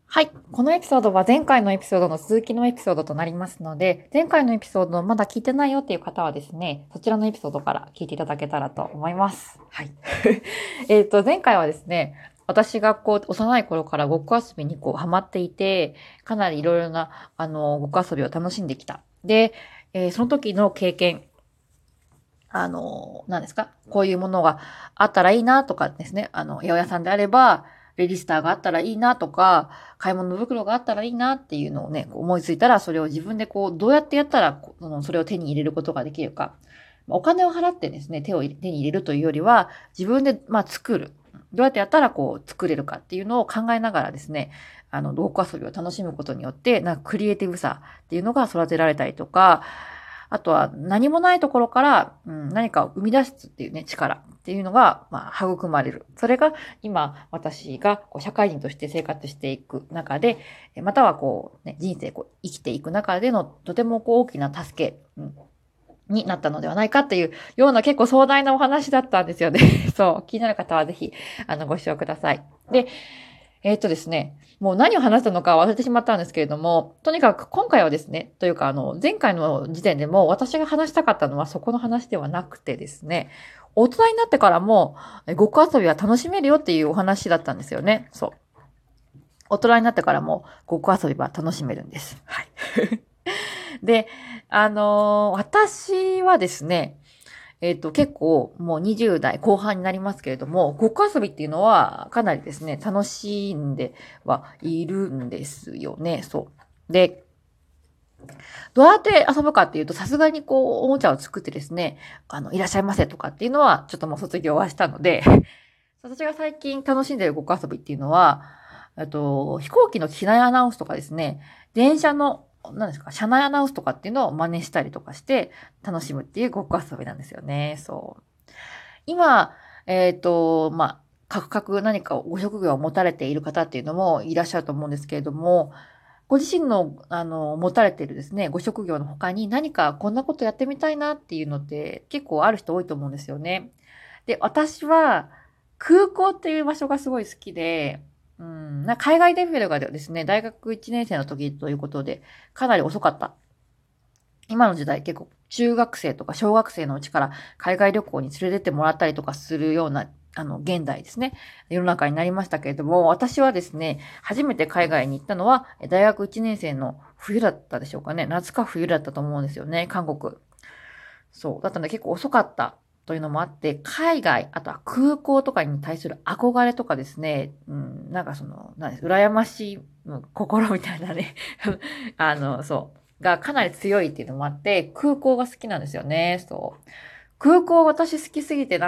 はい。このエピソードは前回のエピソードの続きのエピソードとなりますので、前回のエピソードまだ聞いてないよっていう方はですね、そちらのエピソードから聞いていただけたらと思います。はい。前回はですね、私が幼い頃からごっこ遊びにハマっていて、かなりいろいろな、ごっこ遊びを楽しんできた。で、その時の経験、何ですかこういうものがあったらいいなとかですね。八百屋さんであれば、レジスターがあったらいいなとか、買い物袋があったらいいなっていうのをね、思いついたら、それを自分でどうやってやったら、それを手に入れることができるか。お金を払ってですね、手に入れるというよりは、自分で、作る。どうやってやったら作れるかっていうのを考えながらですね、ごっこ遊びを楽しむことによって、クリエイティブさっていうのが育てられたりとか、あとは何もないところから、何かを生み出すっていうね、力っていうのが、育まれる。それが今、私が社会人として生活していく中で、または人生生きていく中でのとても大きな助け、になったのではないかっていうような結構壮大なお話だったんですよね。そう。気になる方はぜひ、ご視聴ください。で、ですね、もう何を話したのか忘れてしまったんですけれども、とにかく今回はですね、というか前回の時点でも私が話したかったのはそこの話ではなくてですね、大人になってからもごっこ遊びは楽しめるよっていうお話だったんですよね。そう。大人になってからもごっこ遊びは楽しめるんです。はい。で、私はですね、結構もう20代後半になりますけれども、ごっこ遊びっていうのはかなりですね、楽しんではいるんですよね。そう。で、どうやって遊ぶかっていうと、さすがにおもちゃを作ってですね、いらっしゃいませとかっていうのは、ちょっともう卒業はしたので、私が最近楽しんでいるごっこ遊びっていうのは、飛行機の機内アナウンスとかですね、電車の、何ですか、車内アナウンスとかっていうのを真似したりとかして楽しむっていうごっこ遊びなんですよね。そう。今、各々何かご職業を持たれている方っていうのもいらっしゃると思うんですけれども、ご自身の、持たれているですね、ご職業の他に何かこんなことやってみたいなっていうのって結構ある人多いと思うんですよね。で、私は空港っていう場所がすごい好きで、海外デビューがですね、大学1年生の時ということで、かなり遅かった。今の時代結構中学生とか小学生のうちから海外旅行に連れてってもらったりとかするような、現代ですね。世の中になりましたけれども、私はですね、初めて海外に行ったのは、大学1年生の冬だったでしょうかね。夏か冬だったと思うんですよね、韓国。そう。だったので結構遅かったというのもあって、海外、あとは空港とかに対する憧れとかですね、羨ましい心みたいなね、そう。がかなり強いっていうのもあって、空港が好きなんですよね。そう。空港私好きすぎて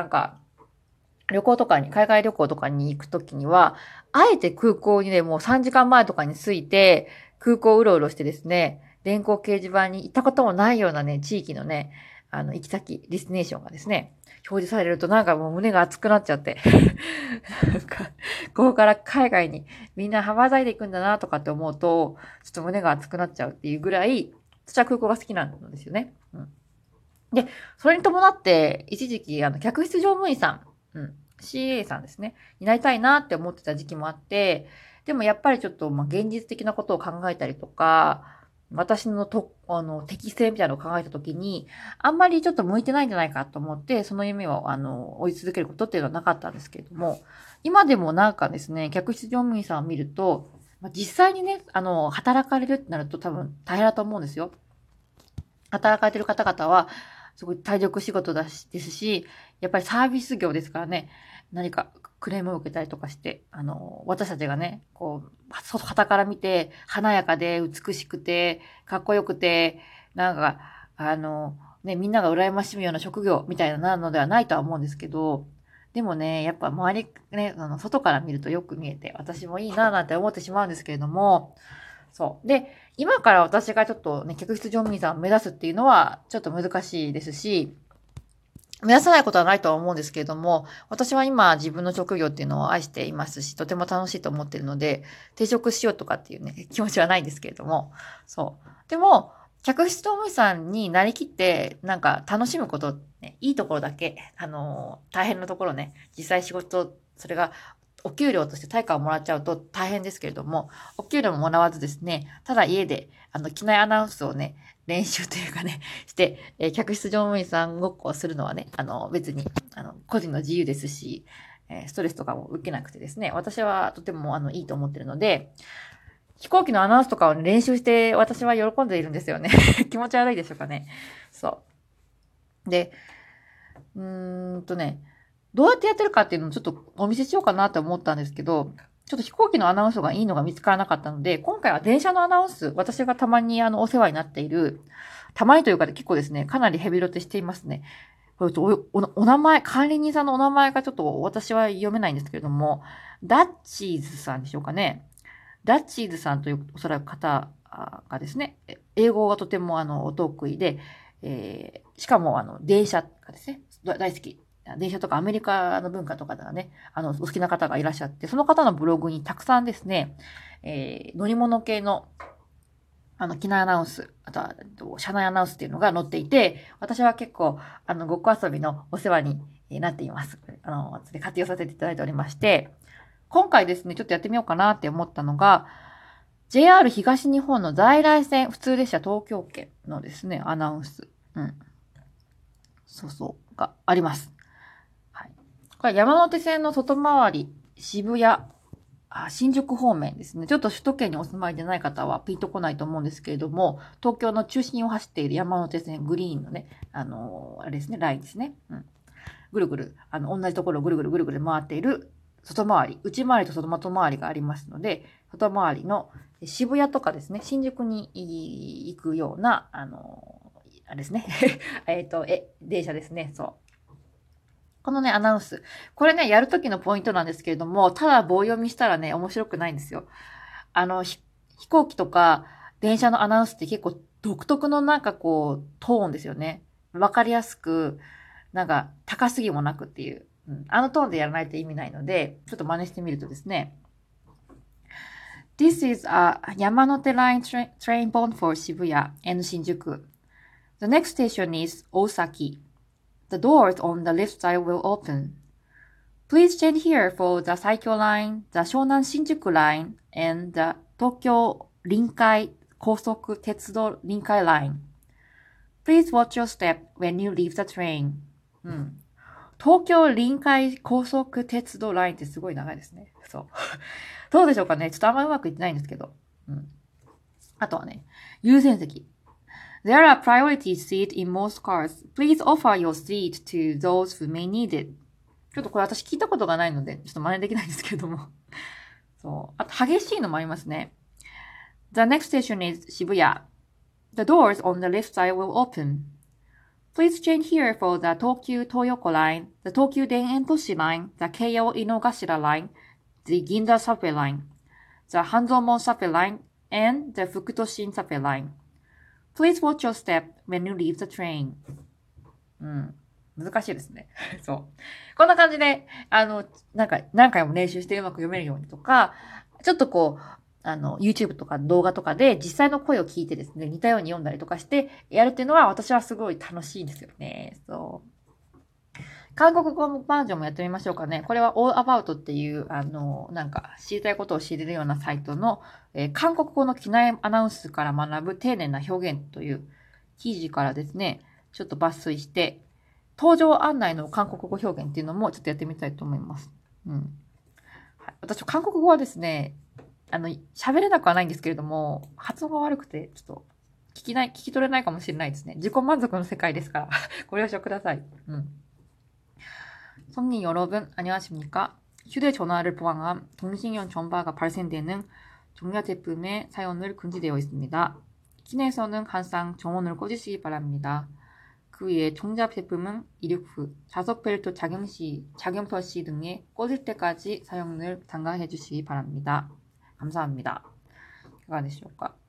海外旅行とかに行くときには、あえて空港にね、もう3時間前とかに着いて、空港をうろうろしてですね、電光掲示板に行ったこともないようなね、地域のね、行き先、ディスティネーションがですね、表示されるとなんかもう胸が熱くなっちゃって。なんか、ここから海外にみんな羽ばたいていくんだなとかって思うと、ちょっと胸が熱くなっちゃうっていうぐらい、私は空港が好きなんですよね。うん。で、それに伴って、一時期、客室乗務員さん、CA さんですね、になりたいなって思ってた時期もあって、でもやっぱりちょっと、現実的なことを考えたりとか、私の適性みたいなのを考えたときに、あんまりちょっと向いてないんじゃないかと思って、その夢を、追い続けることっていうのはなかったんですけれども、今でもなんかですね、客室乗務員さんを見ると、実際にね、働かれるってなると多分大変だと思うんですよ。働かれてる方々は、すごい体力仕事ですし、やっぱりサービス業ですからね、何かクレームを受けたりとかして、私たちがね、旗から見て、華やかで美しくて、かっこよくて、なんか、みんなが羨ましむような職業みたいなのではないとは思うんですけど、でもね、やっぱ周りね、外から見るとよく見えて、私もいいななんて思ってしまうんですけれども、そう。で、今から私がちょっとね、客室乗務員さんを目指すっていうのはちょっと難しいですし、目指さないことはないとは思うんですけれども、私は今自分の職業っていうのを愛していますし、とても楽しいと思っているので、転職しようとかっていうね、気持ちはないんですけれども、そう。でも、客室乗務員さんになりきって、なんか楽しむことね、いいところだけ、大変なところね、実際仕事、それがお給料として対価をもらっちゃうと大変ですけれども、お給料ももらわずですね、ただ家で、機内アナウンスをね、練習というかね、して、客室乗務員さんごっこをするのはね、別に、個人の自由ですし、ストレスとかも受けなくてですね、私はとても、いいと思ってるので、飛行機のアナウンスとかを、ね、練習して、私は喜んでいるんですよね。気持ち悪いでしょうかね。そう。で、どうやってやってるかっていうのをちょっとお見せしようかなと思ったんですけど、ちょっと飛行機のアナウンスがいいのが見つからなかったので、今回は電車のアナウンス、私がたまにお世話になっている、たまにというか結構ですね、かなりヘビロテしていますね。これお名前、管理人さんのお名前がちょっと私は読めないんですけれども、ダッチーズさんでしょうかね。ダッチーズさんというおそらく方がですね、英語がとてもお得意で、しかも電車がですね、大好き。電車とかアメリカの文化とかがね、お好きな方がいらっしゃって、その方のブログにたくさんですね、乗り物系の機内アナウンス、あとは、車内アナウンスっていうのが載っていて、私は結構、ごっこ遊びのお世話になっています。活用させていただいておりまして、今回ですね、ちょっとやってみようかなって思ったのが、JR 東日本の在来線普通列車東京圏のですね、アナウンス。があります。はい。これ山手線の外回り、渋谷、新宿方面ですね。ちょっと首都圏にお住まいでない方はピンとこないと思うんですけれども、東京の中心を走っている山手線グリーンのね、あれですね、ラインですね。ぐるぐる、同じところをぐるぐるぐるぐる回っている外回り、内回りと外回りがありますので、外回りの渋谷とかですね、新宿に行くような、あれですね。電車ですね。そう。このね、アナウンス。これね、やるときのポイントなんですけれども、ただ棒読みしたらね、面白くないんですよ。飛行機とか電車のアナウンスって結構独特のなんかこう、トーンですよね。わかりやすく、なんか高すぎもなくっていう。あのトーンでやらないと意味ないので、ちょっと真似してみるとですね。This is a Yamanote Line train bound for Shibuya and Shinjuku. The next station is Osaki. The doors on the left side will open. Please change here for the Saikyo line, the Shonan Shinjuku line, and the Tokyo Rinkai Kosoku Tetsudo Rinkai line. Please watch your step when you leave the train. 東京臨海高速鉄道ラインってすごい長いですね。そう。どうでしょうかね。ちょっとあんまうまくいってないんですけど。あとはね、優先席。There are priority seats in most cars. Please offer your seat to those who may need it. ちょっとこれ私聞いたことがないので、ちょっと真似できないんですけれども。そう。あと激しいのもありますね。The next station is Shibuya. The doors on the left side will open. Please change here for the Tokyu Toyoko line, the Tokyu Den-en Toshi line, the Keio Inogashira line, the Ginza subway line, the Hanzomon subway line, and the Fukutoshin subway line.Please watch your step when you leave the train. 難しいですね。そう。こんな感じで、なんか、何回も練習してうまく読めるようにとか、ちょっとこう、YouTube とか動画とかで実際の声を聞いてですね、似たように読んだりとかしてやるっていうのは私はすごい楽しいんですよね。そう。韓国語バージョンもやってみましょうかね。これは All About っていう、なんか知りたいことを知れるようなサイトの、韓国語の機内アナウンスから学ぶ丁寧な表現という記事からですね、ちょっと抜粋して、登場案内の韓国語表現っていうのもちょっとやってみたいと思います。はい、私、韓国語はですね、喋れなくはないんですけれども、発音が悪くて、ちょっと聞き取れないかもしれないですね。自己満足の世界ですから。ご了承ください。성님 여러분, 안녕하십니까? 휴대전화를 포함한 통신용 전파가 발생되는 전자제품의 사용을 금지되어 있습니다. 기내에서는 항상 정원을 꺼주시기 바랍니다. 그 외에 전자제품은 이륙 후 좌석벨트 착용터 시 등에 꺼질 때까지 사용을 당가해 주시기 바랍니다. 감사합니다. いかがでしょうか。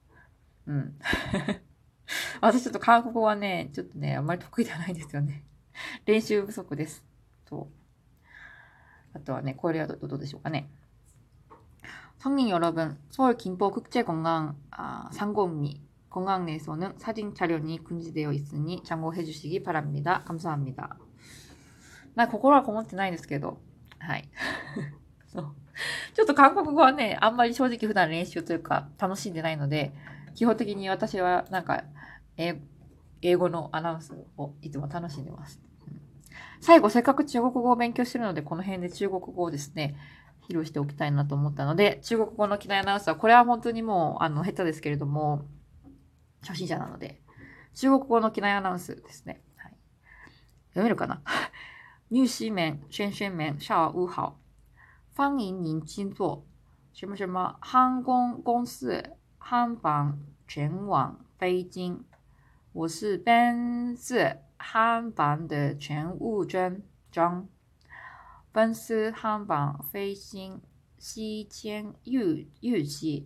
私ちょっと韓国語はね、ちょっとね、あんまり得意ではないんですよね。練習不足です。あとはね、これはどうでしょうかね。성님 여러분, 서울 김포 국제공항 상공미 공항 내에서는 사진 촬영이 금지되어 있으니 참고해 주시기 바랍니다. 감사합니다. 心はこもってないですけど、はい。そう。 ちょっと韓国語はね、あんまり正直普段練習というか楽しんでないので、基本的に私はなんか、英語のアナウンスをいつも楽しんでます。最後、せっかく中国語を勉強してるので、この辺で中国語をですね、披露しておきたいなと思ったので、中国語の機内アナウンスは、これは本当にもう、下手ですけれども、初心者なので、中国語の機内アナウンスですね。はい、読めるかな入西面、轩轩面、下午好。欢迎您进坐。什么什么航空公司航班前往北京。我是本次航班的乘务员张。本次航班飞行时间预计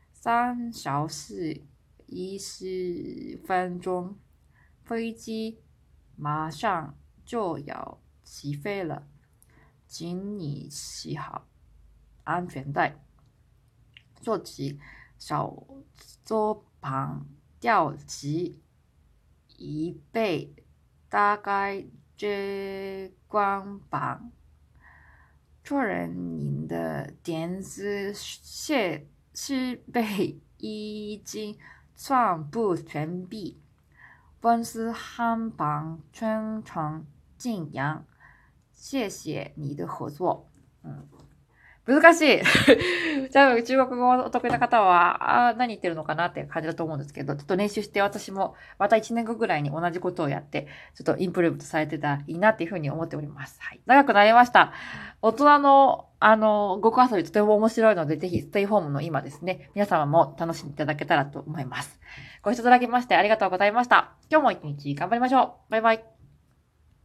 3小时10分钟，飞机马上就要起飞了，请你系好安全带，坐起小桌旁吊起椅背，大概这光板。确认您的电子设备已经全部完毕。本次航班全程静养。谢谢你的合作。難しい。じゃあ、中国語お得意な方は、何言ってるのかなって感じだと思うんですけど、ちょっと練習して私もまた1年後ぐらいに同じことをやって、ちょっとインプルーブとされてたらいいなっていうふうに思っております。はい。長くなりました。大人の、ごっこ遊びとても面白いので、ぜひステイホームの今ですね、皆様も楽しんでいただけたらと思います。ご視聴いただきましてありがとうございました。今日も一日頑張りましょう。バイバイ。